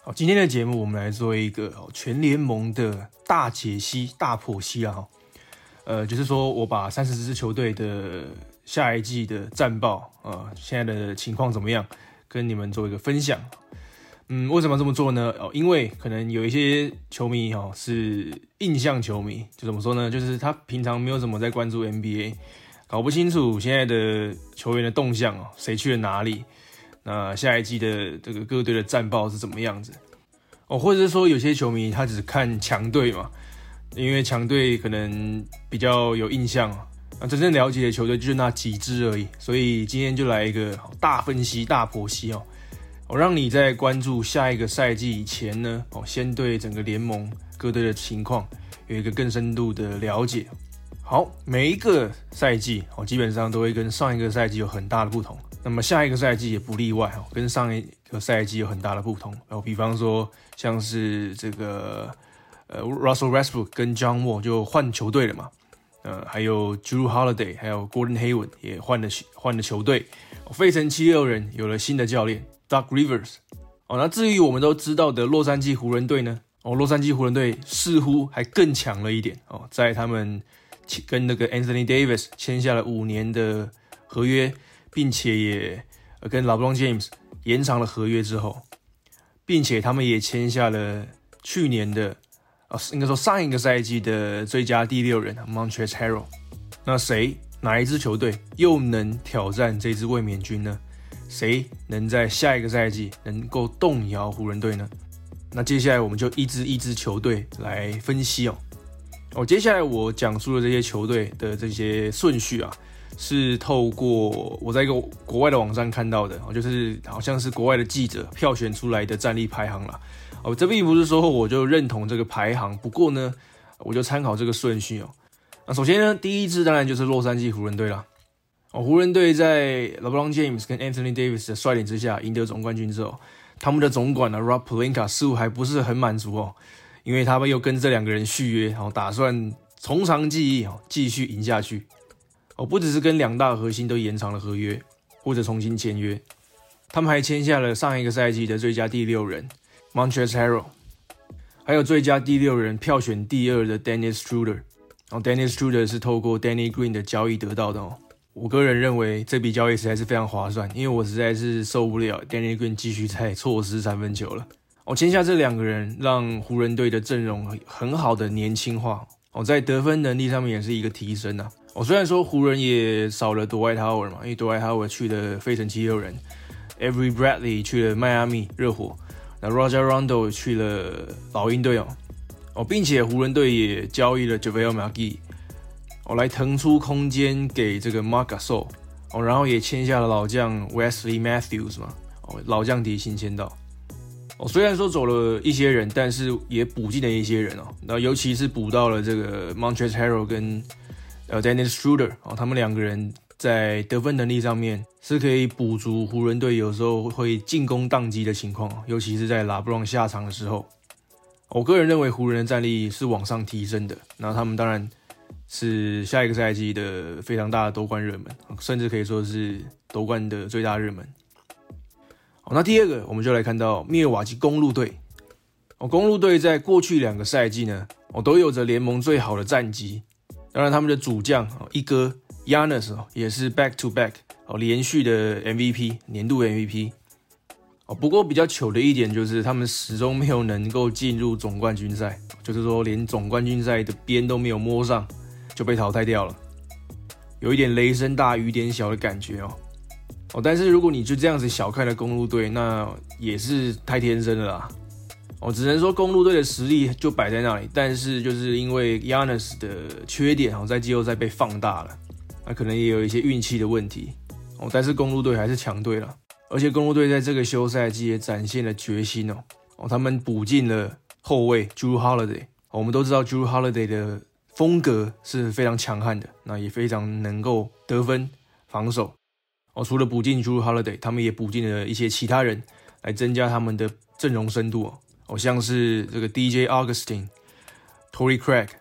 好，今天的节目我们来做一个全联盟的大解析、大剖析啦。就是说我把30支球队的下一季的战报，现在的情况怎么样，跟你们做一个分享。为什么要这么做呢？因为可能有一些球迷是印象球迷，就怎么说呢？就是他平常没有怎么在关注 NBA， 搞不清楚现在的球员的动向，谁去了哪里。那下一季的这个各队的战报是怎么样子？或者是说有些球迷他只看强队嘛，因为强队可能比较有印象，真正了解的球队就是那几支而已。所以今天就来一个大分析、大剖析让你在关注下一个赛季以前呢，先对整个联盟各队的情况有一个更深度的了解。好，每一个赛季基本上都会跟上一个赛季有很大的不同，那么下一个赛季也不例外，跟上一个赛季有很大的不同。比方说像是这个Russell Westbrook 跟 John Wall 就换球队了嘛，还有 Jrue Holiday 还有 Gordon Hayward 也换了球队，费城76人有了新的教练 Doc Rivers。那至于我们都知道的洛杉矶湖人队呢，洛杉矶湖人队似乎还更强了一点，在他们跟那个 Anthony Davis 签下了5年的合约，并且也跟 LeBron James 延长了合约之后，并且他们也签下了去年的应该说上一个赛季的最佳第6人 Montrezl Harrell。 那哪一支球队又能挑战这支卫冕军呢？谁能在下一个赛季能够动摇湖人队呢？那接下来我们就一支球队来分析接下来我讲述的这些球队的这些顺序是透过我在一个国外的网站看到的，就是好像是国外的记者票选出来的战力排行啦。这并不是说我就认同这个排行，不过呢，我就参考这个顺序那首先呢，第一支当然就是洛杉矶湖人队啦。湖人队在 LeBron James 跟 Anthony Davis 的率领之下赢得总冠军之后，他们的总管Rob Pelinka 似乎还不是很满足因为他们又跟这2个人续约，打算从长计议，继续赢下去。不只是跟2大核心都延长了合约，或者重新签约，他们还签下了上一个赛季的最佳第6人 Montrezl Harrell， 还有最佳第6人票选第2的 Dennis Schroeder。Dennis Schroeder 是透过 Danny Green 的交易得到的我个人认为这笔交易实在是非常划算，因为我实在是受不了 Danny Green 继续在错失3分球了。签下这2个人，让湖人队的阵容很好的年轻化，在得分能力上面也是一个提升虽然说湖人也少了 Dwight Howard 嘛，因为 Dwight Howard 去了费城76人， Avery Bradley 去了迈阿密热火，那 Rajon Rondo 去了老鹰队并且湖人队也交易了 JaVale McGee来腾出空间给这个 Marc Gasol然后也签下了老将 Wesley Matthews 嘛，老将底薪签到。虽然说走了一些人，但是也补进了一些人那尤其是补到了这个 Montrezl Harrell 跟Dennis Schroeder 他们2个人在得分能力上面是可以补足湖人队有时候会进攻宕机的情况，尤其是在 LeBron 下场的时候。我个人认为湖人的战力是往上提升的，那他们当然是下一个赛季的非常大的夺冠热门，甚至可以说是夺冠的最大热门。那第2个我们就来看到密尔瓦基公鹿队。公鹿队在过去2个赛季呢都有着联盟最好的战绩，当然他们的主将一哥 Giannis 也是 back to back 连续的 MVP 年度 MVP。不过比较糗的一点就是他们始终没有能够进入总冠军赛，就是说连总冠军赛的边都没有摸上就被淘汰掉了，有一点雷声大雨点小的感觉但是如果你就这样子小看了公鹿队，那也是太天真了啦只能说公鹿队的实力就摆在那里，但是就是因为 Giannis 的缺点在季后赛被放大了，那可能也有一些运气的问题但是公鹿队还是强队了，而且公鹿队在这个休赛季也展现了决心他们补进了后卫 Jrue Holiday。我们都知道 Jrue Holiday 的风格是非常强悍的，那也非常能够得分防守除了补进 Jrue Holiday， 他们也补进了一些其他人来增加他们的阵容深度像是这个 DJ Augustin、Torrey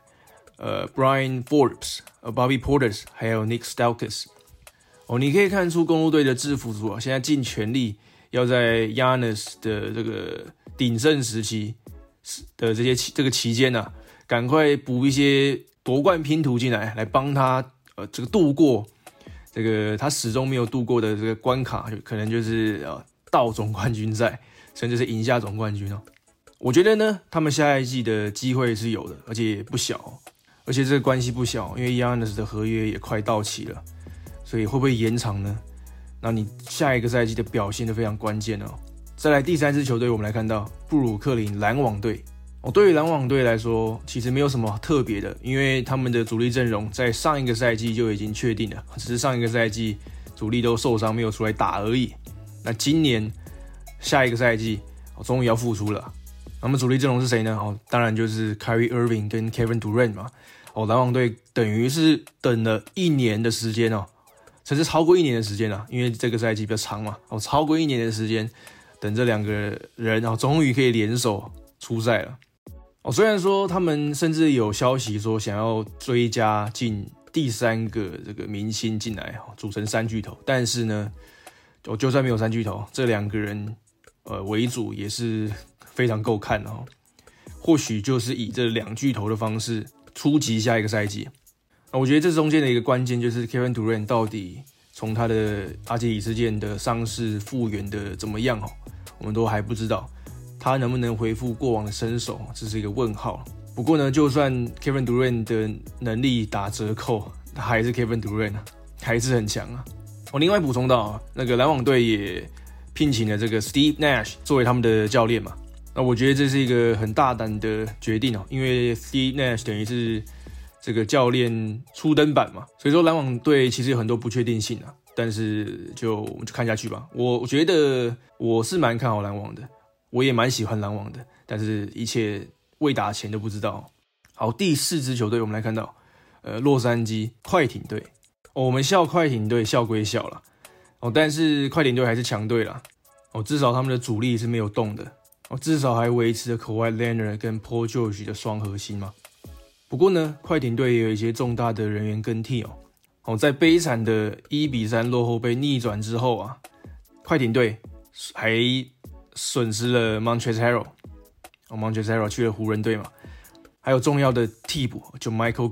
Craig、Brian Forbes、Bobby Portis 还有 Nick Stauskas。你可以看出公鹿队的制服组现在尽全力要在 Giannis 的这个鼎盛时期的这个期间啊，赶快补一些夺冠拼图进来帮他这个度过这个他始终没有度过的这个关卡，可能就是到总冠军赛，甚至是赢下总冠军哦。我觉得呢，他们下一季的机会是有的，而且也不小，而且这个关系不小，因为 Giannis 的合约也快到期了，所以会不会延长呢？那你下一个赛季的表现都非常关键哦。再来第3支球队，我们来看到布鲁克林篮网队。对于篮网队来说，其实没有什么特别的，因为他们的主力阵容在上一个赛季就已经确定了，只是上一个赛季主力都受伤没有出来打而已。那今年下一个赛季终于要复出了。那么主力阵容是谁呢？当然就是 Kyrie Irving 跟 Kevin Durant 嘛。篮网队等于是等了1年的时间甚至超过1年的时间因为这个赛季比较长嘛。超过1年的时间，等这2个人终于可以联手出赛了。虽然说他们甚至有消息说想要追加进第3个这个明星进来，组成3巨头，但是呢，就算没有3巨头，这2个人为主也是非常够看或许就是以这2巨头的方式出击下一个赛季。我觉得这中间的一个关键就是 Kevin Durant 到底从他的阿基里斯腱的伤势复原的怎么样我们都还不知道。他能不能恢复过往的身手，这是一个问号。不过呢，就算 Kevin Durant 的能力打折扣，他还是 Kevin Durant 还是很强啊。另外补充到那个篮网队也聘请了这个 Steve Nash 作为他们的教练嘛。那我觉得这是一个很大胆的决定因为 Steve Nash 等于是这个教练初登板嘛，所以说篮网队其实有很多不确定性但是我们就看下去吧。我觉得我是蛮看好篮网的。我也蛮喜欢篮网的，但是一切未打前都不知道。好，第4支球队我们来看到，洛杉矶快艇队。我们笑快艇队笑归笑啦，但是快艇队还是强队啦。至少他们的主力是没有动的，至少还维持了 Kawhi Leonard 跟 Paul George 的双核心嘛。不过呢，快艇队也有一些重大的人员更替在悲惨的1-3落后被逆转之后快艇队还损失了 Montrezl Harrell，Montrezl Harrell 去了湖人队嘛，还有重要的替补就 Michael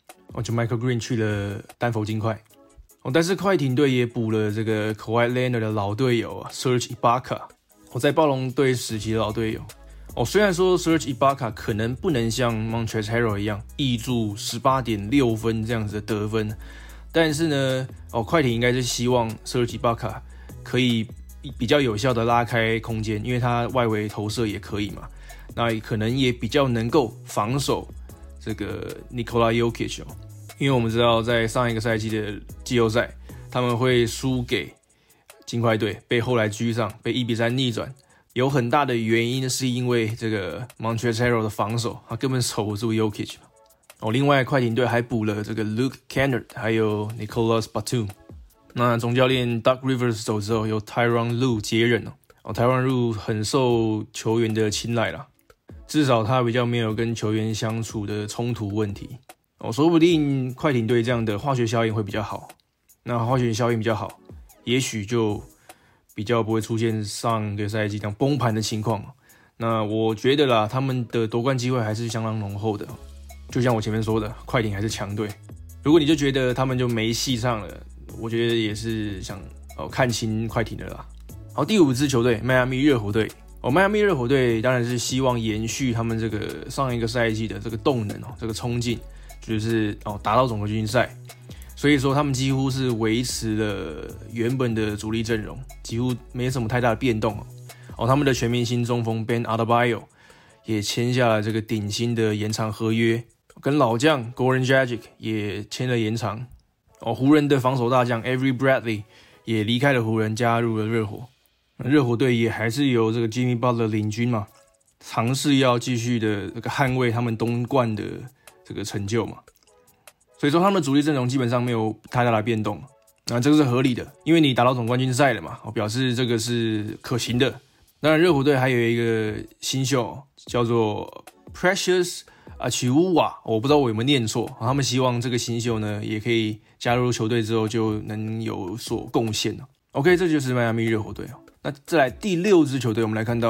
Green 去了丹佛金块。但是快艇队也补了这个 Kawhi Leonard 的老队友Serge Ibaka，在暴龙队时期的老队友。虽然说 Serge Ibaka 可能不能像 Montrezl Harrell 一样挹注 18.6 分这样子的得分，但是呢，快艇应该是希望 Serge Ibaka 可以比较有效的拉开空间，因为他外围投射也可以嘛，那可能也比较能够防守这个 Nikola Jokic因为我们知道在上一个赛季的季后赛，他们会输给金块队，被后来居上，被1-3逆转，有很大的原因是因为这个 Montrezl Harrell 的防守，他根本守不住 Jokic 另外快艇队还补了这个 Luke Kennard 还有 Nicolas Batum。那总教练 Doug Rivers 走之后，由 Tyronn Lue 接任Tyronn Lue 很受球员的青睐啦，至少他比较没有跟球员相处的冲突问题说不定快艇队这样的化学效应会比较好。那化学效应比较好，也许就比较不会出现上个赛季这样崩盘的情况。那我觉得啦，他们的夺冠机会还是相当浓厚的。就像我前面说的，快艇还是强队。如果你就觉得他们就没戏上了，我觉得也是想看清快艇的啦。好，第5支球队迈阿密热火队。迈阿密热火队当然是希望延续他们这个上一个赛季的这个动能这个冲劲，就是达到总冠军赛。所以说他们几乎是维持了原本的主力阵容，几乎没什么太大的变动他们的全明星中锋 Ben Adebayo 也签下了这个顶薪的延长合约，跟老将 Goran Dragic 也签了延长。湖人的防守大将 Avery Bradley 也离开了湖人，加入了热火。热火队也还是由这个 Jimmy Butler 领军嘛，尝试要继续的这个捍卫他们东冠的这个成就嘛。所以说他们的主力阵容基本上没有太大的变动，那这个是合理的，因为你打到总冠军赛了嘛，表示这个是可行的。当然热火队还有一个新秀叫做 Precious Achiuwa， 我不知道我有没有念错，他们希望这个新秀呢也可以加入球队之后就能有所贡献。OK， 这就是迈阿密热火队。那再来第6支球队，我们来看到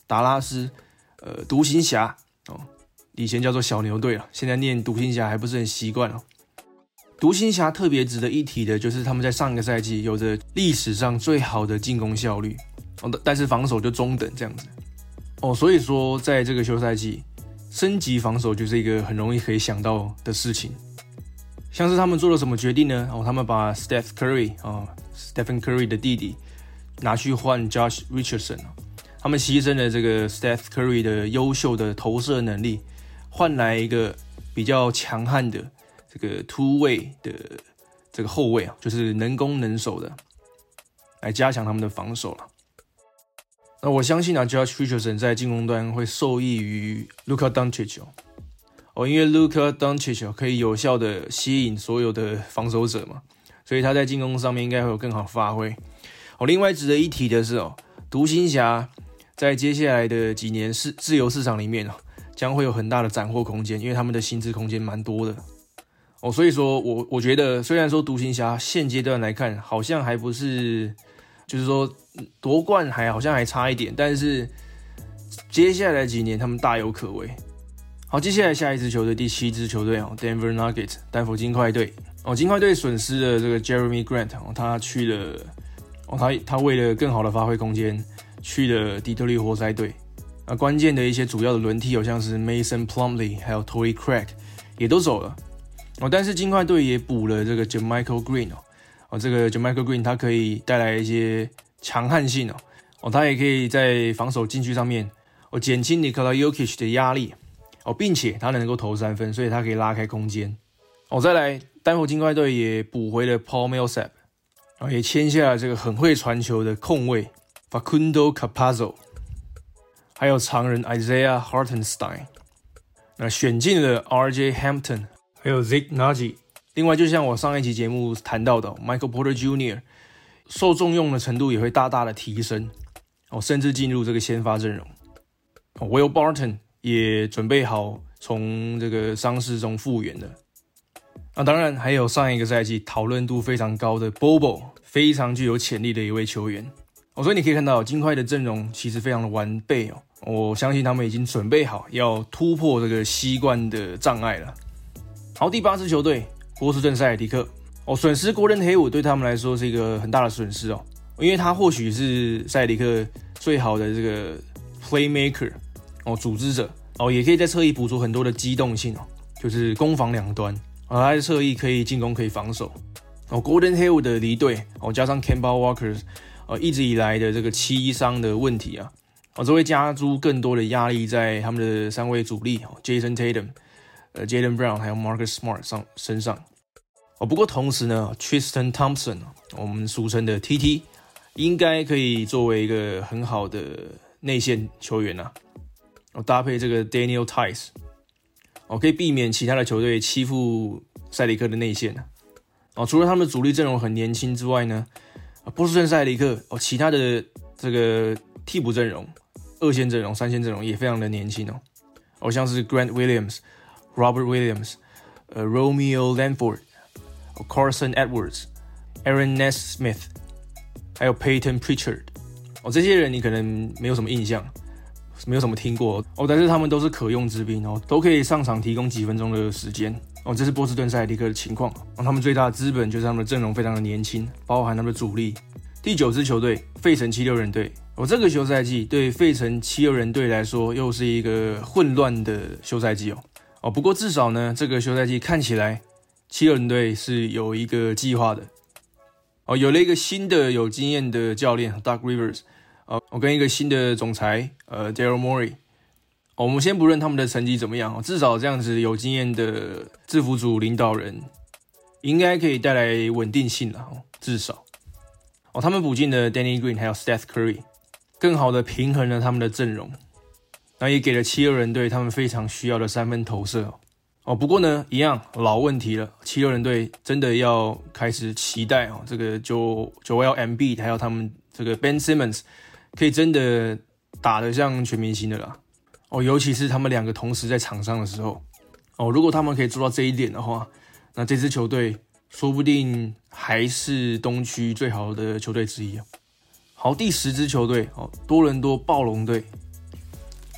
达拉斯独行侠哦，以前叫做小牛队了，现在念独行侠还不是很习惯哦。独行侠特别值得一提的就是他们在上一个赛季有着历史上最好的进攻效率，但是防守就中等这样子哦，所以说在这个休赛季升级防守就是一个很容易可以想到的事情。像是他们做了什么决定呢？他们把 Stephen Curry 的弟弟拿去换 Josh Richardson， 他们牺牲了这个 Stephen Curry 的优秀的投射能力，换来一个比较强悍的这个突位的这个后卫啊，就是能攻能守的，来加强他们的防守了。那我相信Josh Richardson 在进攻端会受益于 Luka Doncic 因为 Luka Doncic 可以有效的吸引所有的防守者嘛，所以他在进攻上面应该会有更好的发挥。另外值得一提的是独行侠在接下来的几年自由市场里面将会有很大的斩获空间，因为他们的薪资空间蛮多的。所以说我觉得虽然说独行侠现阶段来看好像还不是，就是说夺冠好像还差一点，但是接下来几年他们大有可为。好，接下来下一支球队，第7支球队Denver Nuggets 丹佛金块队。金块队损失了这个 Jeremy Grant， 他去了他为了更好的发挥空间去了底特律活塞队。关键的一些主要的轮替像是 Mason Plumlee 还有 Torrey Craig 也都走了。但是金块队也补了这个 JaMychal Green 这个 JaMychal Green 他可以带来一些强悍性他也可以在防守禁区上面减轻 Nikola Jokic 的压力并且他能够投3分，所以他可以拉开空间再来丹佛金块队也补回了 Paul Millsap 也签下了这个很会传球的控卫 Facundo Campazzo， 还有常人 Isaiah Hartenstein， 那选进了 RJ Hampton还有 Zeke Nnaji。 另外就像我上一集节目谈到的 Michael Porter Jr. 受重用的程度也会大大的提升甚至进入这个先发阵容。Will Barton 也准备好从这个伤势中复原了。当然还有上一个赛季讨论度非常高的 Bobo， 非常具有潜力的一位球员所以你可以看到金块的阵容其实非常的完备我相信他们已经准备好要突破这个西冠的障碍了。好，第8支球队波士顿塞尔提克损失 Gordon Hayward 对他们来说是一个很大的损失因为他或许是塞尔提克最好的这个 playmaker 组织者也可以在侧翼补足很多的机动性就是攻防两端他在侧翼可以进攻可以防守Gordon Hayward 的离队加上 Kemba Walker 一直以来的这个膝伤的问题这会加诸更多的压力在他们的3位主力Jason Tatum、Jaylen Brown 还有 Marcus Smart 身上不过同时呢 Tristan Thompson 我们俗称的 TT 应该可以作为一个很好的内线球员搭配这个 Daniel Theis可以避免其他的球队欺负塞里克的内线除了他们的主力阵容很年轻之外呢波士顿塞里克其他的这个替补阵容、2线阵容、3线阵容也非常的年轻像是 Grant Williams、Robert Williams、Romeo Langford、Carson Edwards、Aaron Nesmith 还有 Peyton Pritchard这些人你可能没有什么印象，没有什么听过但是他们都是可用之兵都可以上场提供几分钟的时间这是波士顿塞尔提克的情况他们最大的资本就是他们的阵容非常的年轻，包含他们的主力。第9支球队费城76人队这个休赛季对费城76人队来说又是一个混乱的休赛季不过至少呢这个休赛季看起来76人队是有一个计划的有了一个新的有经验的教练 Doug Rivers跟一个新的总裁Daryl Morey我们先不论他们的成绩怎么样至少这样子有经验的制服组领导人应该可以带来稳定性啦至少他们补进了 Danny Green 还有 Steph Curry， 更好的平衡了他们的阵容，那也给了76人队他们非常需要的3分投射不过呢一样老问题了，76人队真的要开始期待这个Joel Embiid 还有他们这个 Ben Simmons 可以真的打得像全明星的啦尤其是他们2个同时在场上的时候如果他们可以做到这一点的话，那这支球队说不定还是东区最好的球队之一好，第10支球队多伦多暴龙队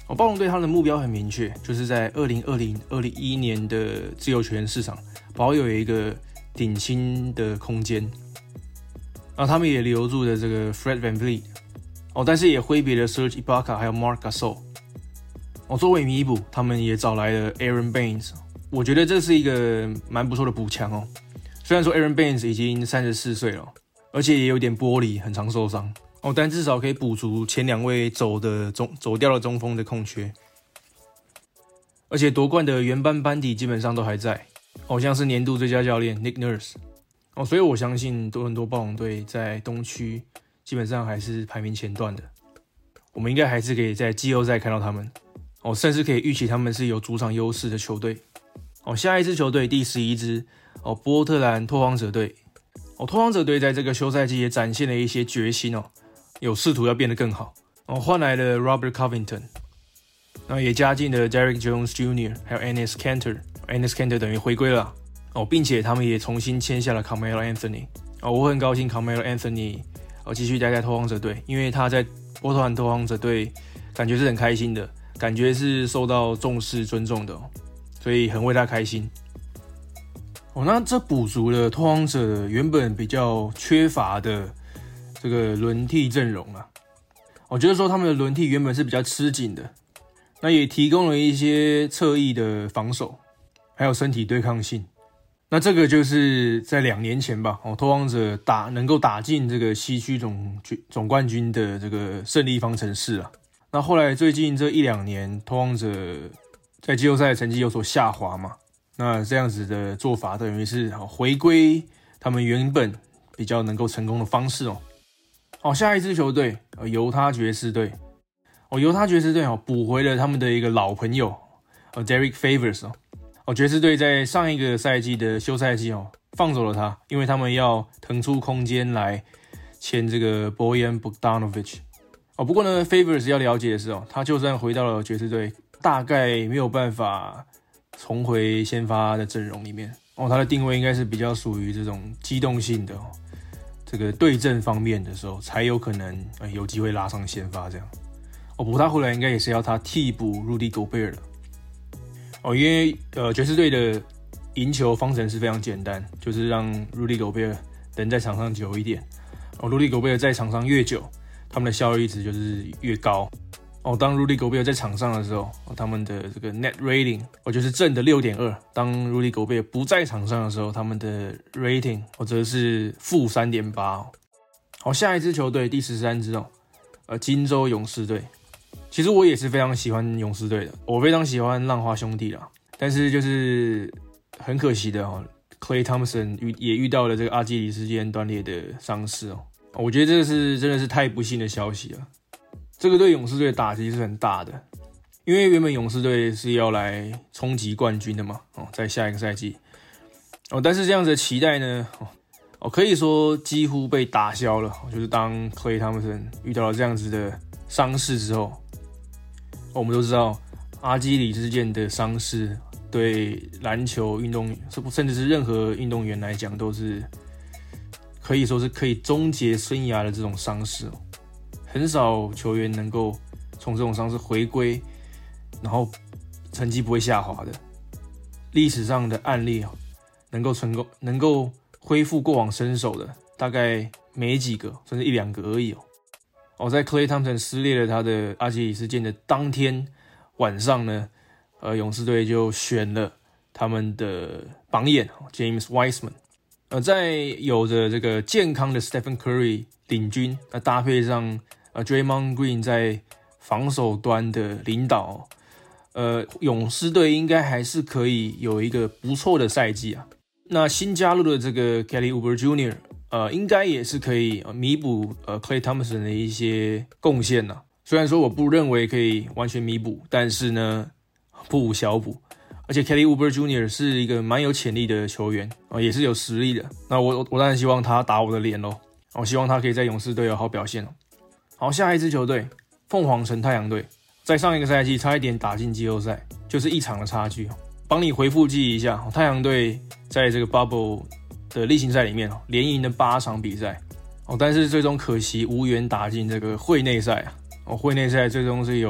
暴龙队他的目标很明确，就是在2020-2021年的自由球员市场保有一个顶薪的空间。然后他们也留住了这个 Fred VanVleet，但是也挥别了 Serge Ibaka 还有 Marc Gasol。作为弥补，他们也找来了 Aaron Baines。我觉得这是一个蛮不错的补强哦。虽然说 Aaron Baines 已经34岁了，而且也有点玻璃，很常受伤但至少可以补足前2位走掉的中锋的空缺。而且夺冠的原班底基本上都还在，像是年度最佳教练 Nick Nurse。所以我相信多伦多暴龙队在东区基本上还是排名前段的，我们应该还是可以在季后赛看到他们，甚至可以预期他们是有主场优势的球队。下一支球队第11支波特兰拓荒者队。拓荒者队在这个休赛季也展现了一些决心有试图要变得更好换来了 Robert Covington， 也加进了 Derrick Jones Jr. 还有 Enes Kanter。Enes Kanter 等于回归了并且他们也重新签下了 Carmelo Anthony。我很高兴 Carmelo Anthony 继续待在拓荒者队，因为他在波特兰拓荒者队感觉是很开心的，感觉是受到重视尊重的所以很为他开心。那这补足了拓荒者原本比较缺乏的这个轮替阵容啊。就是说他们的轮替原本是比较吃紧的，那也提供了一些侧翼的防守，还有身体对抗性。那这个就是在2年前吧，拓荒者能够打进这个西区总冠军的这个胜利方程式啊。那后来最近这1-2年，拓荒者在季后赛的成绩有所下滑嘛，那这样子的做法等于是回归他们原本比较能够成功的方式下一支球队犹他爵士队。犹他爵士队补回了他们的一个老朋友Derek Favors。爵士队在上一个赛季的休赛季放走了他，因为他们要腾出空间来签这个 Bojan Bogdanovic。不过呢 Favors 要了解的是他就算回到了爵士队，大概没有办法重回先发的阵容里面他的定位应该是比较属于这种机动性的这个对阵方面的时候才有可能有机会拉上先发这样。不过他回来应该也是要他替补 Rudy Gobert 的因为爵士队的赢球方程式非常简单，就是让 Rudy Gobert 能在场上久一点Rudy Gobert 在场上越久，他们的效率值就是越高当 Rudy Gobert 在场上的时候他们的这个 net rating 就是正的 6.2， 当 Rudy Gobert 不在场上的时候，他们的 rating 则是负 3.8。 下一支球队第13支金州勇士队。其实我也是非常喜欢勇士队的，我非常喜欢浪花兄弟啦，但是就是很可惜的Klay Thompson 也遇到了这个阿基里斯腱断裂的伤势我觉得这是真的是太不幸的消息了。这个对勇士队的打击是很大的，因为原本勇士队是要来冲击冠军的嘛在下一个赛季但是这样子的期待呢可以说几乎被打消了就是当 Klay Thompson 遇到了这样子的伤势之后我们都知道阿基里斯腱的伤势对篮球运动甚至是任何运动员来讲都是可以说是可以终结生涯的这种伤势很少球员能够从这种伤势回归然后成绩不会下滑的。历史上的案例能够恢复过往身手的大概没几个，甚至1-2个而已在 Klay Thompson 撕裂了他的阿基里斯腱的当天晚上呢勇士队就选了他们的榜眼 James Wiseman。在有着这个健康的 Stephen Curry 领军搭配上Draymond Green 在防守端的领导勇士队应该还是可以有一个不错的赛季啊。那新加入的这个 Kelly Oubre Jr. 应该也是可以弥补Klay Thompson 的一些贡献呐。虽然说我不认为可以完全弥补，但是呢不无小补。而且 Kelly Oubre Jr. 是一个蛮有潜力的球员也是有实力的。那我当然希望他打我的脸咯，我希望他可以在勇士队有好表现好，下一支球队凤凰城太阳队，在上一个赛季差一点打进季后赛，就是1场的差距。帮你回复记忆一下，太阳队在这个 Bubble 的例行赛里面连赢了8场比赛但是最终可惜无缘打进这个会内赛会内赛最终是由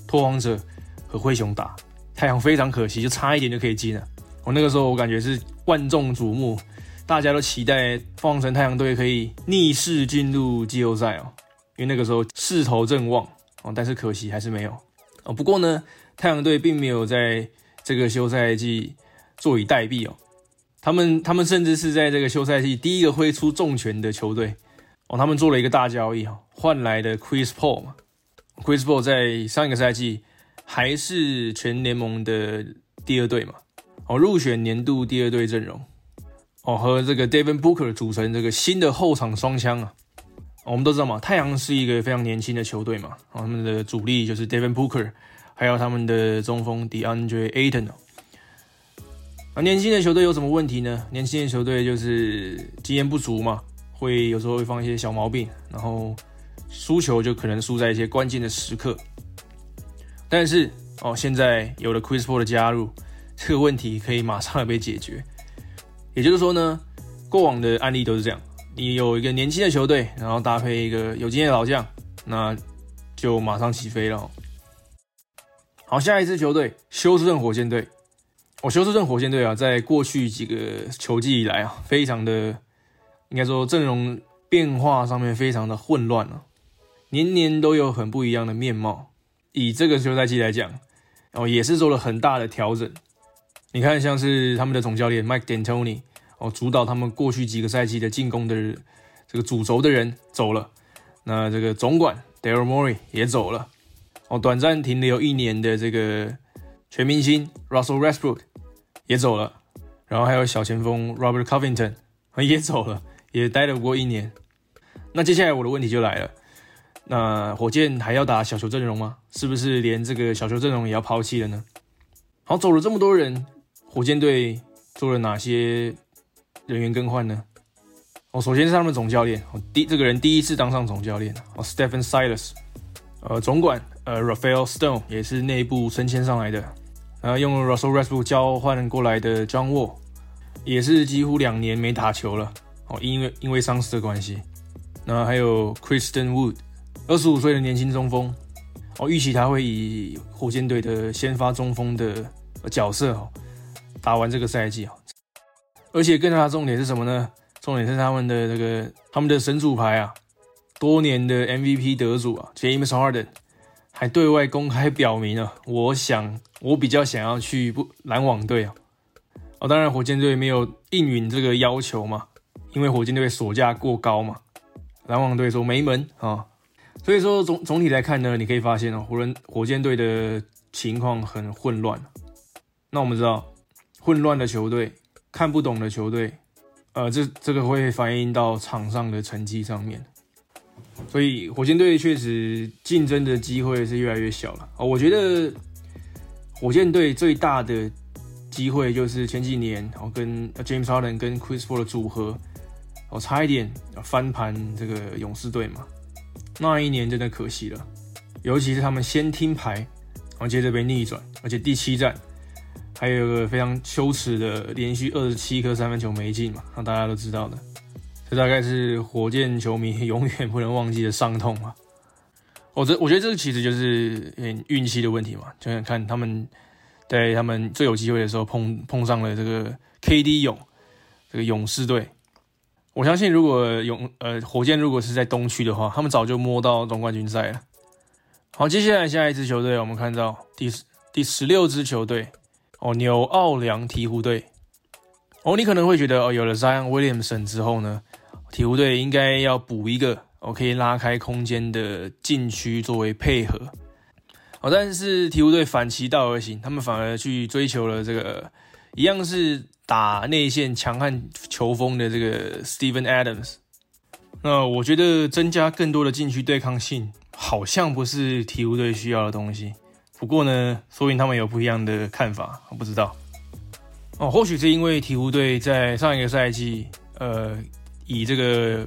拓荒者和灰熊打，太阳非常可惜，就差一点就可以进了。那个时候我感觉是万众瞩目，大家都期待凤凰城太阳队可以逆势进入季后赛哦，因为那个时候势头正旺哦，但是可惜还是没有哦。不过呢，太阳队并没有在这个休赛季坐以待毙哦，他们甚至是在这个休赛季第一个挥出重拳的球队哦，他们做了一个大交易哦，换来的 Chris Paul 嘛 ，Chris Paul 在上一个赛季还是全联盟的第2队嘛。入选年度第2队阵容，和这个 Devin Booker 组成这个新的后场双枪啊。我们都知道嘛，太阳是一个非常年轻的球队嘛，他们的主力就是 Devin Booker， 还有他们的中锋 DeAndre Ayton。年轻的球队有什么问题呢？年轻的球队就是经验不足嘛，有时候会放一些小毛病，然后输球就可能输在一些关键的时刻。但是现在有了 Chris Paul 的加入，这个问题可以马上的被解决。也就是说呢，过往的案例都是这样，你有一个年轻的球队，然后搭配一个有经验的老将，那就马上起飞了。好，下一支球队休斯顿火箭队。休斯顿火箭队啊，在过去几个球季以来啊，非常的应该说阵容变化上面非常的混乱啊，年年都有很不一样的面貌。以这个休赛季来讲，也是做了很大的调整。你看，像是他们的总教练 Mike D'Antoni 主导他们过去几个赛季的进攻的这个主轴的人走了，那这个总管 Daryl Morey 也走了，短暂停留1年的这个全明星 Russell Westbrook 也走了，然后还有小前锋 Robert Covington 也走了，也待了不过1年。那接下来我的问题就来了，那火箭还要打小球阵容吗？是不是连这个小球阵容也要抛弃了呢？好，走了这么多人，火箭队做了哪些人员更换呢？首先是他们的总教练，这个人第一次当上总教练，Stephen Silas，总管Rafael Stone 也是内部升迁上来的，用 Russell Westbrook 交换过来的 John Wall， 也是几乎2年没打球了，因为伤势的关系。那还有 Christian Wood， 25岁的年轻中锋，预期他会以火箭队的先发中锋的角色打完这个赛季。而且更大的重点是什么呢？重点是他们的神主牌啊，多年的 MVP 得主啊 James Harden 还对外公开表明了，我比较想要去篮网队啊。当然火箭队没有应允这个要求嘛，因为火箭队所价过高嘛，篮网队说没门啊。所以说总体来看呢，你可以发现火箭队的情况很混乱。那我们知道，混乱的球队、看不懂的球队，这个会反映到场上的成绩上面。所以火箭队确实竞争的机会是越来越小了。我觉得火箭队最大的机会就是前几年跟 James Harden 跟 Chris Paul 的组合，差一点翻盘这个勇士队嘛。那一年真的可惜了，尤其是他们先听牌，然后接着被逆转，而且第7战还有一个非常羞耻的连续27颗3分球没进嘛，让大家都知道的。这大概是火箭球迷永远不能忘记的伤痛嘛。我觉得这个其实就是运气的问题嘛，就想看他们在他们最有机会的时候碰上了这个 KD 这个勇士队。我相信如果火箭如果是在东区的话，他们早就摸到总冠军赛了。好，接下来下一支球队，我们看到第16支球队纽奥良鹈鹕队。你可能会觉得有了 Zion Williamson 之后呢，鹈鹕队应该要补一个可以拉开空间的禁区作为配合。但是鹈鹕队反其道而行，他们反而去追求了这个一样是打内线强悍球风的这个 Steven Adams。那我觉得增加更多的禁区对抗性好像不是鹈鹕队需要的东西。不过呢，说不定他们有不一样的看法，我不知道。或许是因为鹈鹕队在上一个赛季，以这个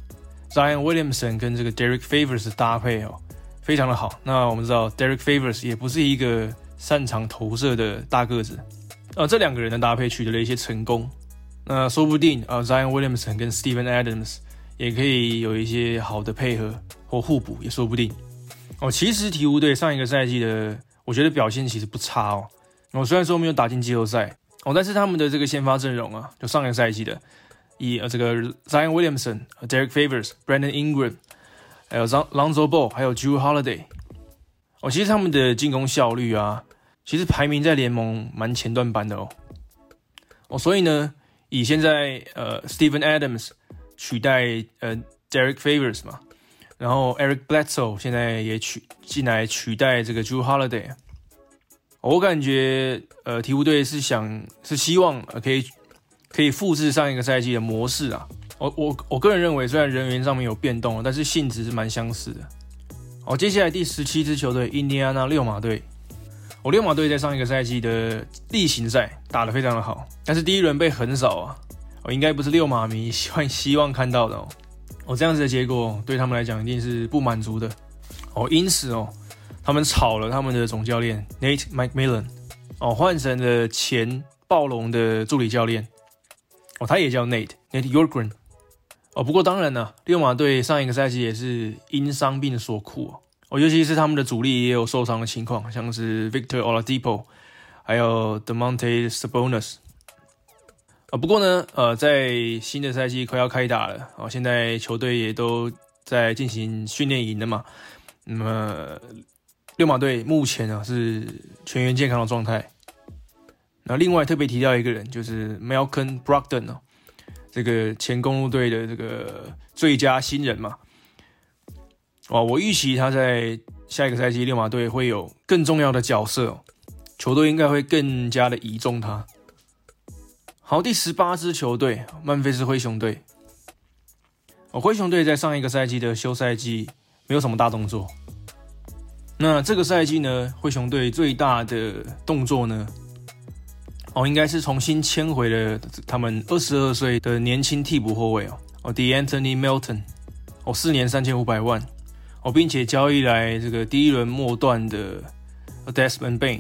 Zion Williamson 跟这个 Derek Favors 的搭配非常的好。那我们知道 Derek Favors 也不是一个擅长投射的大个子，这2个人的搭配取得了一些成功。那说不定Zion Williamson 跟 Steven Adams 也可以有一些好的配合或互补，也说不定。 其实鹈鹕队上一个赛季的，我觉得表现其实不差虽然说没有打进季后赛但是他们的这个先发阵容就上一个赛季的，以这个 Zion Williamson、Derek Favors、Brandon Ingram， 还有 Lonzo Ball， 还有 Jrue Holiday，其实他们的进攻效率其实排名在联盟蛮前段班的所以呢，以现在Steven Adams 取代Derek Favors 嘛，然后 Eric Bledsoe 现在也进来取代这个 Jrue Holiday，我感觉鹈鹕队是希望可以复制上一个赛季的模式我个人认为，虽然人员上面有变动但是性质是蛮相似的。接下来第17支球队印第安纳溜马队。溜马队在上一个赛季的例行赛打得非常的好，但是第一轮被横扫应该不是溜马迷希望看到的这样子的结果对他们来讲一定是不满足的因此他们炒了他们的总教练 Nate McMillan 换成了前暴龙的助理教练他也叫 Nate Yorgren不过当然溜马队上一个赛季也是因伤病所苦尤其是他们的主力也有受伤的情况，像是 Victor Oladipo 还有 Domantas Sabonis不过呢在新的赛季快要开打了现在球队也都在进行训练营了嘛，那么溜马队目前是全员健康的状态。那另外特别提到一个人，就是 Malcolm Brogdon 这个前公鹿队的这个最佳新人嘛我预期他在下一个赛季溜马队会有更重要的角色球队应该会更加的倚重他。好，第18支球队曼菲斯灰熊队灰熊队在上一个赛季的休赛季没有什么大动作，那这个赛季呢，灰熊队最大的动作呢应该是重新签回了他们22岁的年轻替补后卫DeAnthony Melton4年3500万并且交易来这个第一轮末段的 Desmond Bane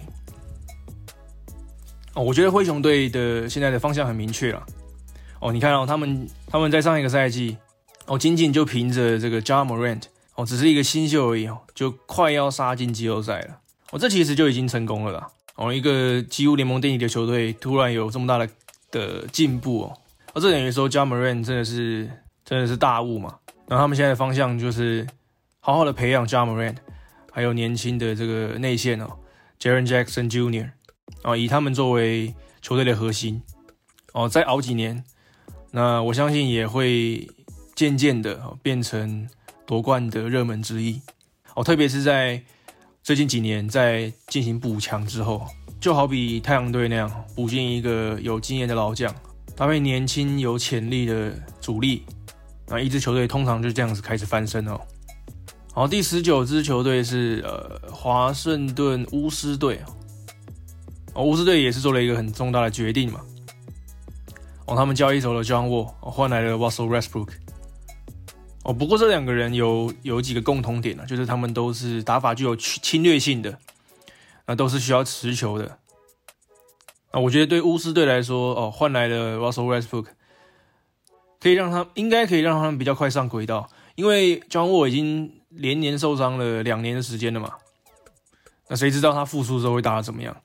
我觉得灰熊队的现在的方向很明确了你看他们在上一个赛季仅仅就凭着这个 Ja Morant只是一个新秀而已就快要杀进季后赛了这其实就已经成功了啦一个几乎联盟垫底的球队突然有这么大的进步这等于说 Ja Morant 真的是大物嘛。然后他们现在的方向就是好好的培养 Ja Morant 还有年轻的这个内线Jaren Jackson Jr. 以他们作为球队的核心再熬几年，那我相信也会渐渐的变成夺冠的热门之一特别是在最近几年在进行补强之后，就好比太阳队那样补进一个有经验的老将，搭配年轻有潜力的主力，那一支球队通常就这样子开始翻身好，第19支球队是华盛顿巫师队巫师队也是做了一个很重大的决定嘛他们交易走了 John Wall 换来了 Russell Westbrook不过这两个人有几个共同点就是他们都是打法具有侵略性的都是需要持球的我觉得对巫师队来说换来了 Russell Westbrook 应该可以让他们比较快上轨道，因为 John Wall 已经连年受伤了2年的时间了嘛，那谁知道他复出之后会打得怎么样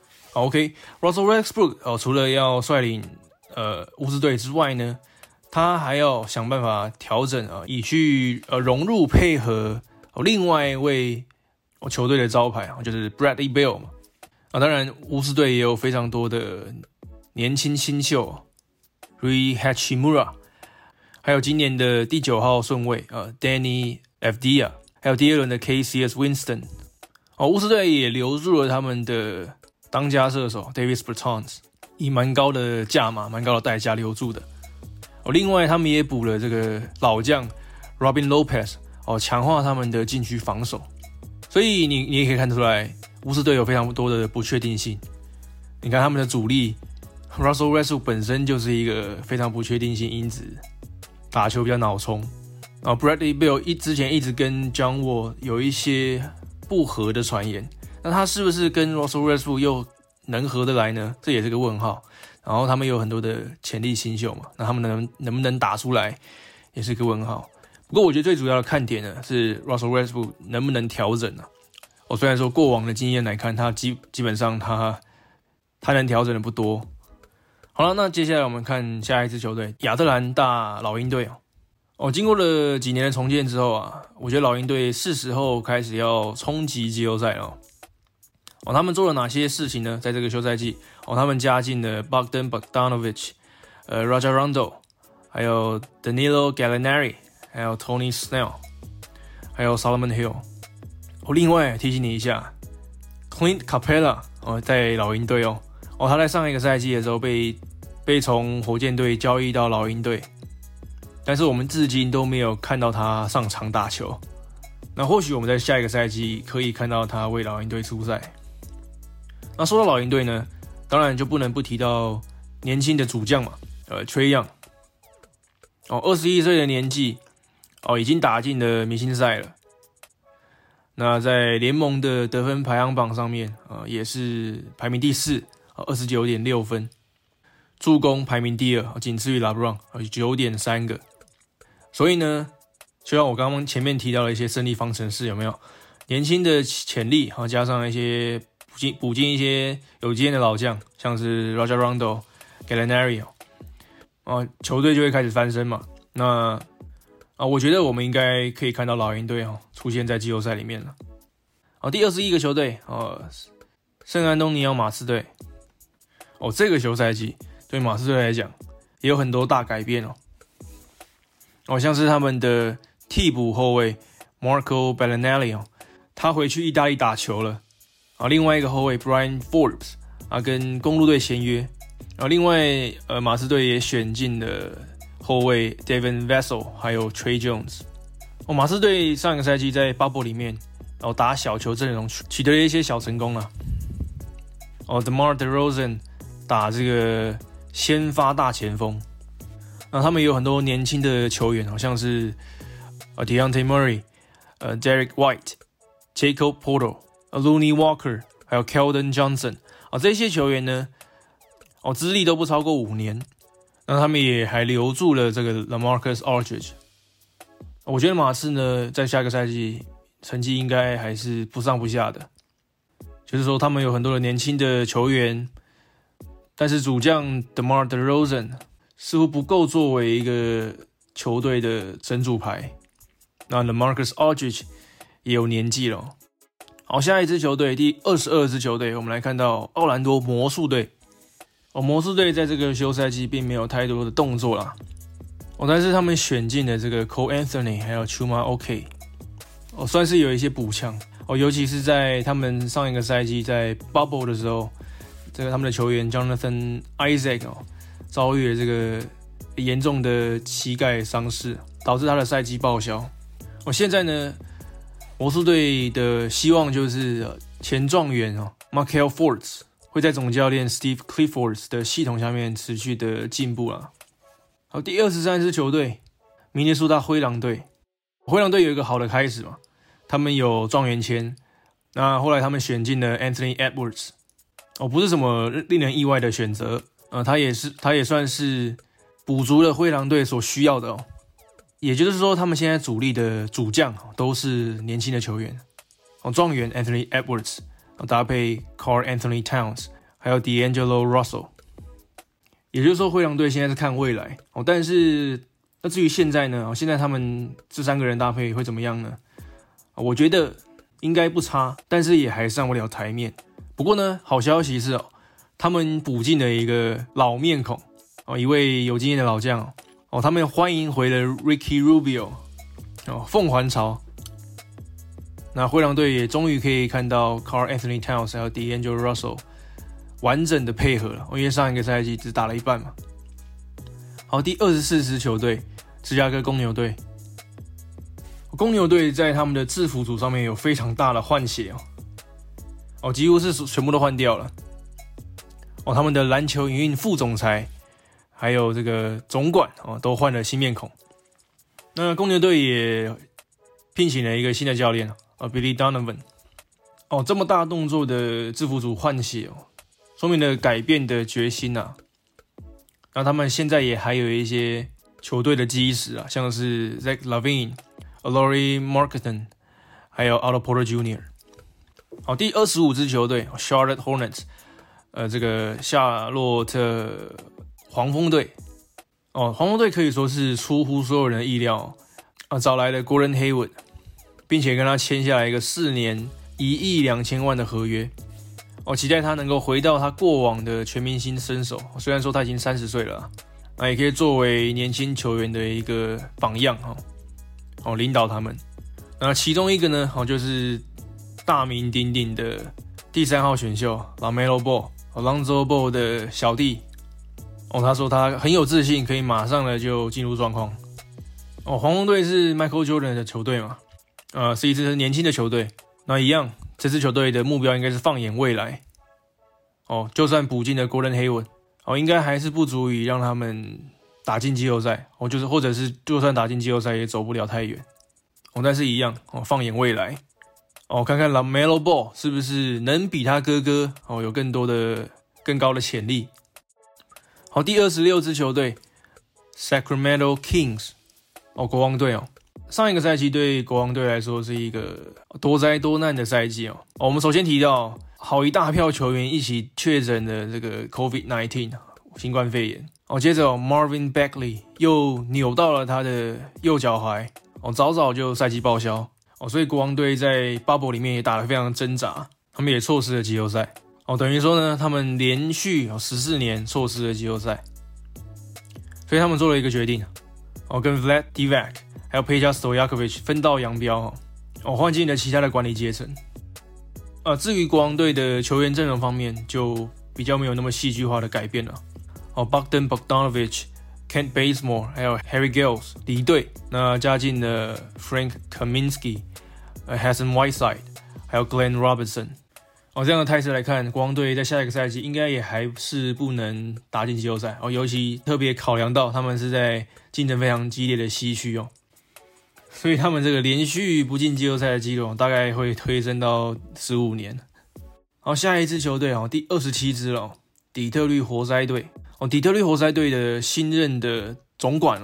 ？OK， Russell Westbrook除了要率领巫师队之外呢，他还要想办法调整以去融入配合另外一位球队的招牌就是 Bradley Beal 嘛当然巫师队也有非常多的年轻新秀Rui Hachimura， 还有今年的第9号顺位Danny Avdija， 还有第2轮的 KCS Winston巫师队也留住了他们的当家射手 Davis Bertans， 以蛮高的价码蛮高的代价留住的另外他们也补了这个老将 Robin Lopez 强化他们的禁区防守，所以你也可以看出来巫师队有非常多的不确定性。你看他们的主力 Russell Westbrook 本身就是一个非常不确定性因子，打球比较脑冲Bradley Beal 之前一直跟 John Wall 有一些不合的传言，那他是不是跟 Russell Westbrook 又能合得来呢？这也是个问号。然后他们有很多的潜力新秀嘛，那他们能不能打出来也是个问号。 不过我觉得最主要的看点呢是 Russell Westbrook 能不能调整啊。虽然说过往的经验来看，他基本上他能调整的不多。好了，那接下来我们看下一支球队亚特兰大老鹰队经过了几年的重建之后啊，我觉得老鹰队是时候开始要冲击季后赛了。他们做了哪些事情呢？在这个休赛季他们加进了 Bogdan Bogdanovic、Rajon Rondo， 还有 Danilo Gallinari， 还有 Tony Snell， 还有 Solomon Hill。另外提醒你一下 ，Clint Capella 在老鹰队他在上一个赛季的时候被从火箭队交易到老鹰队，但是我们至今都没有看到他上场打球。那或许我们在下一个赛季可以看到他为老鹰队出赛。那说到老鹰队呢，当然就不能不提到年轻的主将嘛，Trae Young，21岁的年纪已经打进了明星赛了。那在联盟的得分排行榜上面也是排名第4，29.6分，助攻排名第2，仅次于 LeBron，9.3个。所以呢，就像我刚刚前面提到的一些胜利方程式，有没有年轻的潜力加上一些补进一些有经验的老将，像是 Rajon Rondo、Gallinari，球队就会开始翻身嘛。那我觉得我们应该可以看到老鹰队出现在季后赛里面了。第21个球队圣安东尼奥马刺队。这个休赛季对马刺队来讲也有很多大改变像是他们的替补后卫 Marco Bellinelli 他回去意大利打球了另外一个后卫 Brian Forbes 跟公鹿队签约另外马刺队也选进了后卫 Devin Vassell 还有 Tre Jones。马刺队上一个赛季在 Bubble 里面打小球阵容取得了一些小成功DeMar DeRozan 打这个先发大前锋。那他们有很多年轻的球员像是Dejounte Murray、Derek White、Jakob Poeltl、Looney Walker 还有 Keldon Johnson 这些球员呢资历都不超过5年。那他们也还留住了这个 LaMarcus Aldridge。我觉得马刺呢在下个赛季成绩应该还是不上不下的，就是说他们有很多的年轻的球员，但是主将 DeMar DeRozan 似乎不够作为一个球队的神主牌。那 LaMarcus Aldridge 也有年纪了。好，下一支球队第22支球队，我们来看到奥兰多魔术队。魔术队在这个休赛季并没有太多的动作啦但是他们选进了这个 Cole Anthony 还有 Chuma OK，算是有一些补强尤其是在他们上一个赛季在 Bubble 的时候，这个他们的球员 Jonathan Isaac 遭遇了这个严重的膝盖伤势，导致他的赛季报销。现在呢，魔术队的希望就是前状元Markelle Fultz会在总教练 Steve Clifford 的系统下面持续的进步啦。好，第23支球队明尼苏达灰狼队。灰狼队有一个好的开始嘛，他们有状元签，那后来他们选进了 Anthony Edwards，不是什么令人意外的选择，他也算是补足了灰狼队所需要的也就是说，他们现在主力的主将都是年轻的球员，状元 Anthony Edwards搭配 Karl Anthony Towns 还有 D'Angelo Russell， 也就是说灰狼队现在是看未来但是那至于现在呢，现在他们这3个人搭配会怎么样呢？我觉得应该不差，但是也还上不了台面。不过呢，好消息是他们补进了一个老面孔一位有经验的老将他们欢迎回了 Ricky Rubio 凤凰巢。那灰狼队也终于可以看到 Karl Anthony Towns 还有 D'Angelo Russell 完整的配合了因为上一个赛季只打了一半嘛。好，第24支球队芝加哥公牛队。公牛队在他们的制服组上面有非常大的换血几乎是全部都换掉了他们的篮球营运副总裁还有这个总管都换了新面孔。那公牛队也聘请了一个新的教练Billy Donovan 这么大动作的制服组换血说明了改变的决心那他们现在也还有一些球队的基石啊，像是 Zach Lavine、Lauri Markkanen， 还有 Otto Porter Jr. 好，第25支球队 Charlotte Hornets， 这个夏洛特黄蜂队。黄蜂队可以说是出乎所有人的意料找来了 Gordon Hayward， 并且跟他签下来一个4年1亿2000万的合约。期待他能够回到他过往的全明星身手，虽然说他已经30岁了那也可以作为年轻球员的一个榜样领导他们。那其中一个呢就是大名鼎鼎的第3号选秀 LaMelo Ball，Lonzo Ball 的小弟他说他很有自信，可以马上的就进入状况。黄蜂队是 Michael Jordan 的球队嘛，是一支年轻的球队。那一样，这支球队的目标应该是放眼未来。就算补进了 Gordon Hayward，应该还是不足以让他们打进季后赛。或者是就算打进季后赛也走不了太远。但是一样，放眼未来。看看 LaMelo Ball 是不是能比他哥哥有更高的潜力。好，第26支球队 Sacramento Kings， 国王队上一个赛季对国王队来说是一个多灾多难的赛季我们首先提到好一大票球员一起确诊了这个 COVID-19 新冠肺炎接着Marvin Bagley 又扭到了他的右脚踝早早就赛季报销所以国王队在 Bubble 里面也打得非常挣扎，他们也错失了季后赛等于说呢，他们连续14年错失了季后赛，所以他们做了一个决定跟 Vlad Divac 还有 Peja Stojakovic 分道扬镳换进了其他的管理阶层至于国王队的球员阵容方面，就比较没有那么戏剧化的改变了Bogdan Bogdanovic、Kent Bazemore 还有 Harry Giles 离队，那加进了 Frank Kaminsky、Hassan Whiteside 还有 Glenn Robinson这样的态势来看，国王队在下一个赛季应该也还是不能打进季后赛尤其特别考量到他们是在竞争非常激烈的西区所以他们这个连续不进季后赛的记录大概会推升到15年。好，下一支球队第27支了底特律活塞队底特律活塞队的新任的总管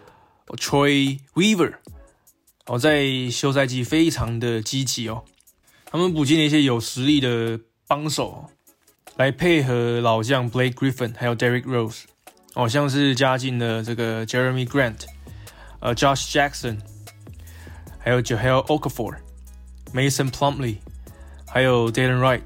Troy Weaver 在休赛季非常的积极他们补进了一些有实力的帮手来配合老将 Blake Griffin 还有 Derrick Rose 像是加进了这个 Jeremy Grant、Josh Jackson 还有 Jahlil Okafor、Mason Plumlee 还有 Dylan Wright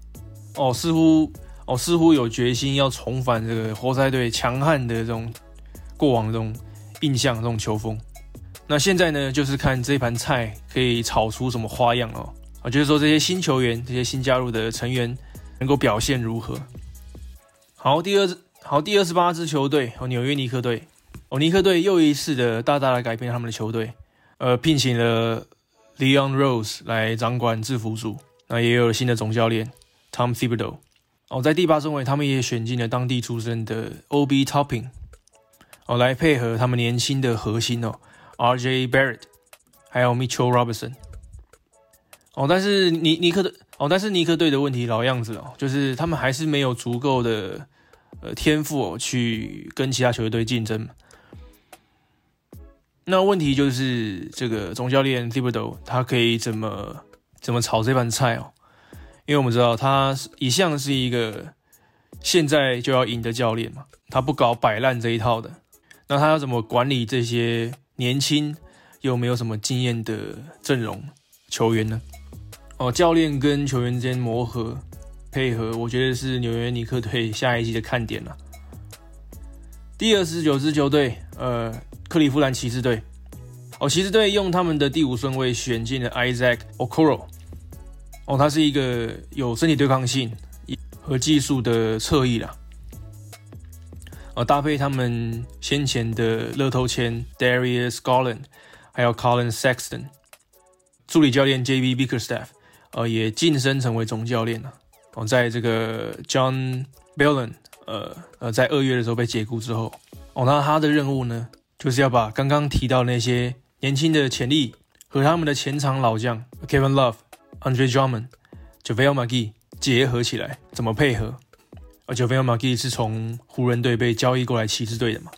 似乎有决心要重返这个活塞队强悍的这种过往的这种印象，这种球风。那现在呢，就是看这盘菜可以炒出什么花样就是说这些新球员、这些新加入的成员能够表现如何。好，第28支球队纽约尼克队尼克队又一次的大大的改变他们的球队，聘请了 Leon Rose 来掌管制服组，那也有了新的总教练 Tom Thibodeau。在第8顺位，他们也选进了当地出身的 Obi Toppin 来配合他们年轻的核心RJ Barrett 还有 Mitchell Robinson。但是尼克队的问题老样子就是他们还是没有足够的天赋去跟其他球队竞争。那问题就是这个总教练 Thibodeau 他可以怎么炒这盘菜因为我们知道他一向是一个现在就要赢的教练嘛，他不搞摆烂这一套的。那他要怎么管理这些年轻又没有什么经验的阵容球员呢？教练跟球员之间磨合配合，我觉得是纽约尼克队下一季的看点啦。第29支球队，克利夫兰骑士队。骑士队用他们的第5顺位选进了 Isaac Okoro。他是一个有身体对抗性和技术的侧翼啦。搭配他们先前的乐透签 Darius Garland 还有 Colin Sexton， 助理教练 JB Bickerstaff也晋升成为总教练了。在这个 John Bellin 在2月的时候被解雇之后，那他的任务呢，就是要把刚刚提到那些年轻的潜力和他们的前场老将 Kevin Love、Andre Drummond、JaVale McGee 结合起来，怎么配合？JaVale McGee 是从湖人队被交易过来骑士队的嘛？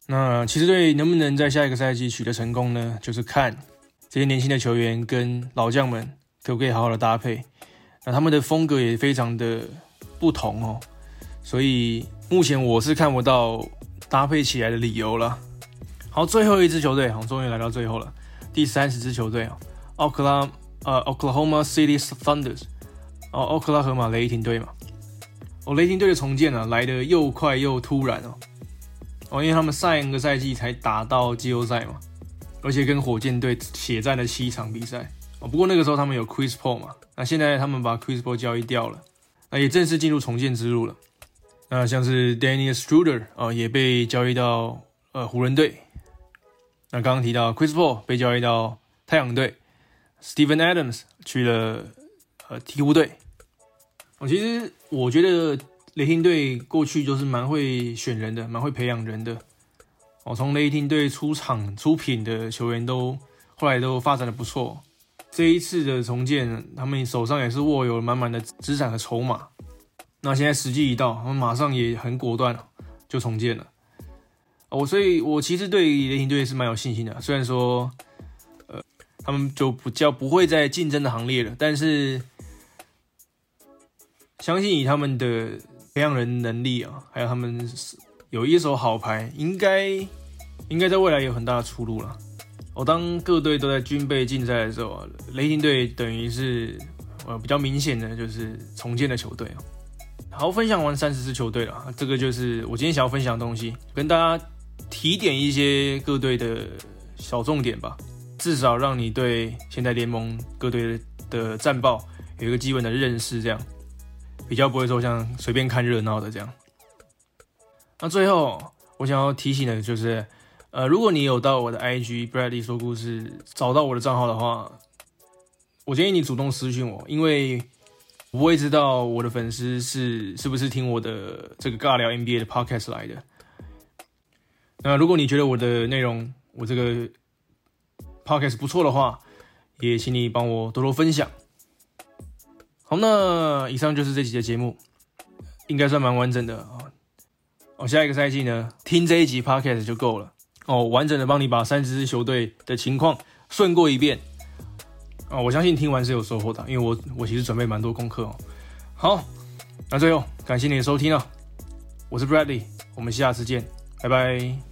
那骑士队能不能在下一个赛季取得成功呢？就是看这些年轻的球员跟老将们可不可以好好的搭配。那他们的风格也非常的不同哦，所以目前我是看不到搭配起来的理由了。好，最后一支球队，终于来到最后了，第30支球队Oklahoma City Thunder， 奥克拉荷马雷霆队嘛。雷霆队的重建来得又快又突然因为他们上个赛季才打到季后赛嘛，而且跟火箭队血战了7场比赛不过那个时候他们有 Chris Paul 嘛，那现在他们把 Chris Paul 交易掉了，那也正式进入重建之路了。那像是 Dennis Schroeder 也被交易到湖人队。那刚刚提到 Chris Paul 被交易到太阳队 ，Steven Adams 去了鹈鹕队。其实我觉得雷霆队过去就是蛮会选人的，蛮会培养人的。从雷霆队出品的球员后来都发展的不错。这一次的重建，他们手上也是握有满满的资产和筹码。那现在时机一到，他们马上也很果断就重建了。所以我其实对雷霆队是蛮有信心的。虽然说他们就不会在竞争的行列了，但是相信以他们的培养人能力还有他们有一手好牌，应该在未来有很大的出路了。当各队都在军备竞赛的时候雷霆队等于是比较明显的就是重建的球队好，分享完30支球队了，这个就是我今天想要分享的东西，跟大家提点一些各队的小重点吧，至少让你对现在联盟各队的战报有一个基本的认识，这样比较不会说像随便看热闹的这样。那最后我想要提醒的就是如果你有到我的 IG Bradley 说故事找到我的账号的话，我建议你主动私讯我，因为我不会知道我的粉丝是不是听我的这个尬聊 NBA 的 podcast 来的。那如果你觉得我的内容，我这个 podcast 不错的话，也请你帮我多多分享。好，那以上就是这期的节目，应该算蛮完整的下一个赛季呢，听这一集 podcast 就够了完整的帮你把30支球队的情况顺过一遍我相信听完是有收获的，因为我其实准备蛮多功课好，那最后感谢你的收听我是 Bradley， 我们下次见，拜拜。